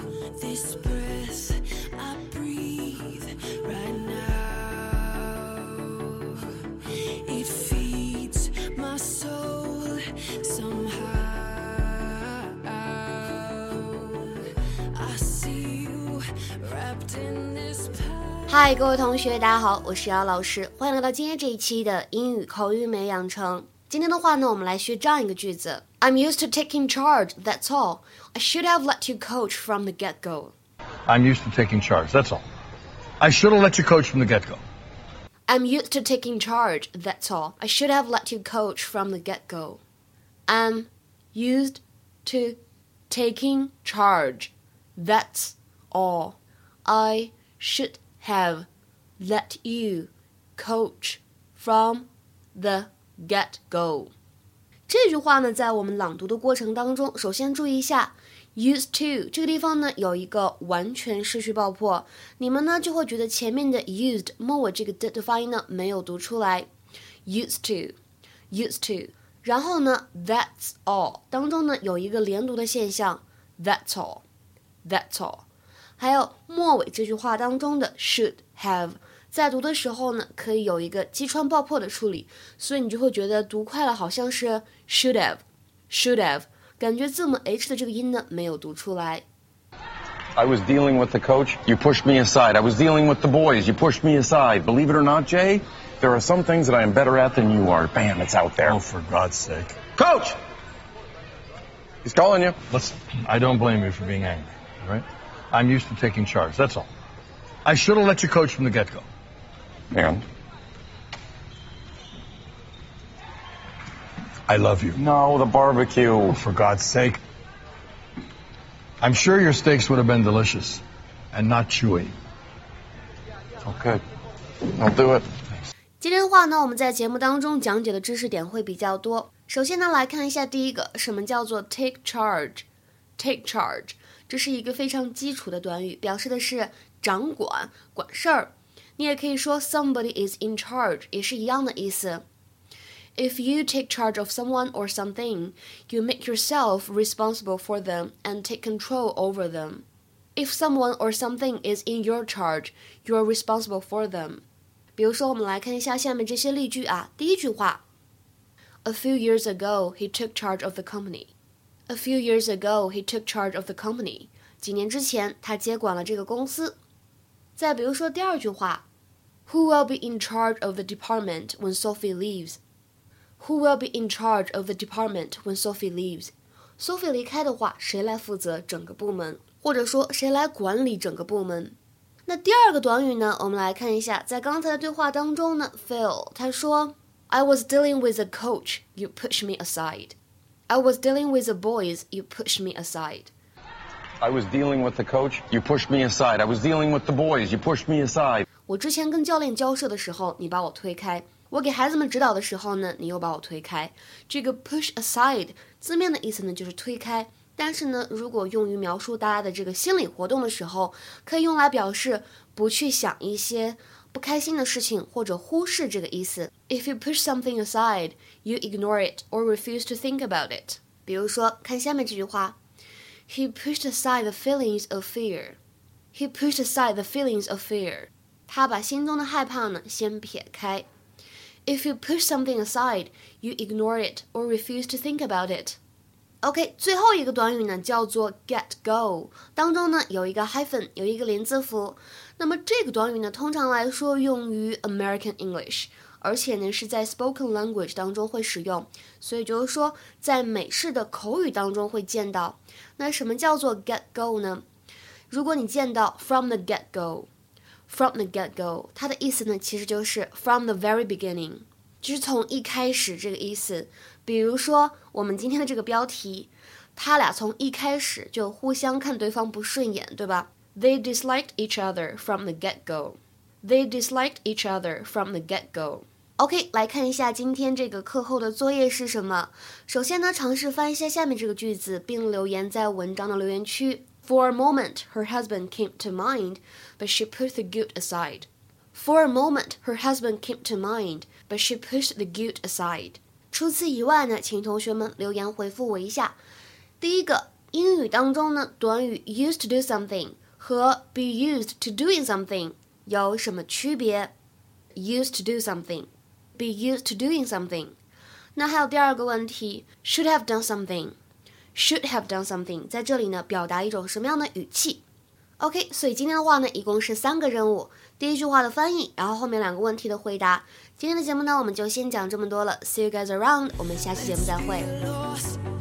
This breath I breathe right now, it feeds my soul somehow. I see you wrapped in this power. 嗨，各位同学，大家好，我是姚老师，欢迎来到今天这一期的英语口语美养成。今天的话呢，我们来学这样一个句子 ：I'm used to taking charge. That's all. I should have let you coach from the get-go. I'm used to taking charge. That's all. I should have let you coach from the get-go. I'm used to taking charge. That's all. I should have let you coach from the get-go. I'm used to taking charge. That's all. I should have let you coach from the get-go. 这句话呢，在我们朗读的过程当中，首先注意一下 used to 这个地方呢有一个完全失去爆破，你们呢就会觉得前面的 used 末尾这个的发音呢没有读出来 used to 然后呢 that's all 当中呢有一个连读的现象 that's all 还有末尾这句话当中的 should have在读的时候呢，可以有一个击穿爆破的处理，所以你就会觉得读快了好像是 should have， 感觉字母 H 的这个音呢没有读出来。 I was dealing with the coach, you pushed me aside. I was dealing with the boys, you pushed me aside. Believe it or not, Jay, there are some things that I am better at than you are. Bam, it's out there. Oh, for God's sake. Coach! He's calling you. Listen, I don't blame you for being angry, all right? I'm used to taking charge, that's all. I should have let you coach from the get-go. And? I love you. No, the barbecue. Oh, for God's sake. I'm sure your steaks would have been delicious and not chewy. Okay, I'll do it. 今天的话呢，我们在节目当中讲解的知识点会比较多。首先呢，来看一下第一个，什么叫做 take charge？Take charge， 这是一个非常基础的短语，表示的是掌管、管事儿。你也可以说 somebody is in charge， 也是一样的意思。If you take charge of someone or something, you make yourself responsible for them and take control over them. If someone or something is in your charge, you are responsible for them. 比如说，我们来看一下下面这些例句啊。第一句话 A few years ago, he took charge of the company. A few years ago, he took charge of the company. 几年之前，他接管了这个公司。再比如说第二句话 Who will be in charge of the department when Sophie leaves? Who will be in charge of the department when Sophie leaves? Sophie 离开的话，谁来负责整个部门？或者说谁来管理整个部门？那第二个短语呢，我们来看一下，在刚才的对话当中呢 Phil 他说 I was dealing with a coach, you pushed me aside. I was dealing with the boys, you pushed me aside. I was dealing with the coach, you pushed me aside. I was dealing with the boys, you pushed me aside. 我之前跟教练交涉的时候，你把我推开；我给孩子们指导的时候呢，你又把我推开。这个 push aside 字面的意思呢就是推开，但是呢，如果用于描述大家的这个心理活动的时候，可以用来表示不去想一些不开心的事情或者忽视这个意思。If you push something aside, you ignore it or refuse to think about it. 比如说，看下面这句话 He pushed aside the feelings of fear. He pushed aside the feelings of fear. 他把心中的害怕呢先撇开。If you push something aside, you ignore it or refuse to think about it. OK， 最后一个短语呢叫做 get go， 当中呢有一个 hyphen， 有一个连字符。那么这个短语呢通常来说用于 American English， 而且呢是在 spoken language 当中会使用，所以就是说在美式的口语当中会见到。那什么叫做 get go 呢？如果你见到 from the get go，From the get-go， 它的意思呢，其实就是 from the very beginning， 就是从一开始这个意思。比如说，我们今天的这个标题，他俩从一开始就互相看对方不顺眼，对吧？ They disliked each other from the get-go. They disliked each other from the get-go. OK， 来看一下今天这个课后的作业是什么。首先呢，尝试翻一下下面这个句子，并留言在文章的留言区。For a moment, her husband came to mind, but she pushed the guilt aside. For a moment, her husband came to mind, but she pushed the guilt aside. 除此以外呢，请同学们留言回复我一下。第一个英语当中呢，短语 used to do something 和 be used to doing something 有什么区别？ Used to do something, be used to doing something。 那还有第二个问题 should have done something, should have done something 在这里呢表达一种什么样的语气？ OK， 所以今天的话呢一共是3个任务，第一句话的翻译，然后后面2个问题的回答。今天的节目呢我们就先讲这么多了， See you guys around， 我们下期节目再会。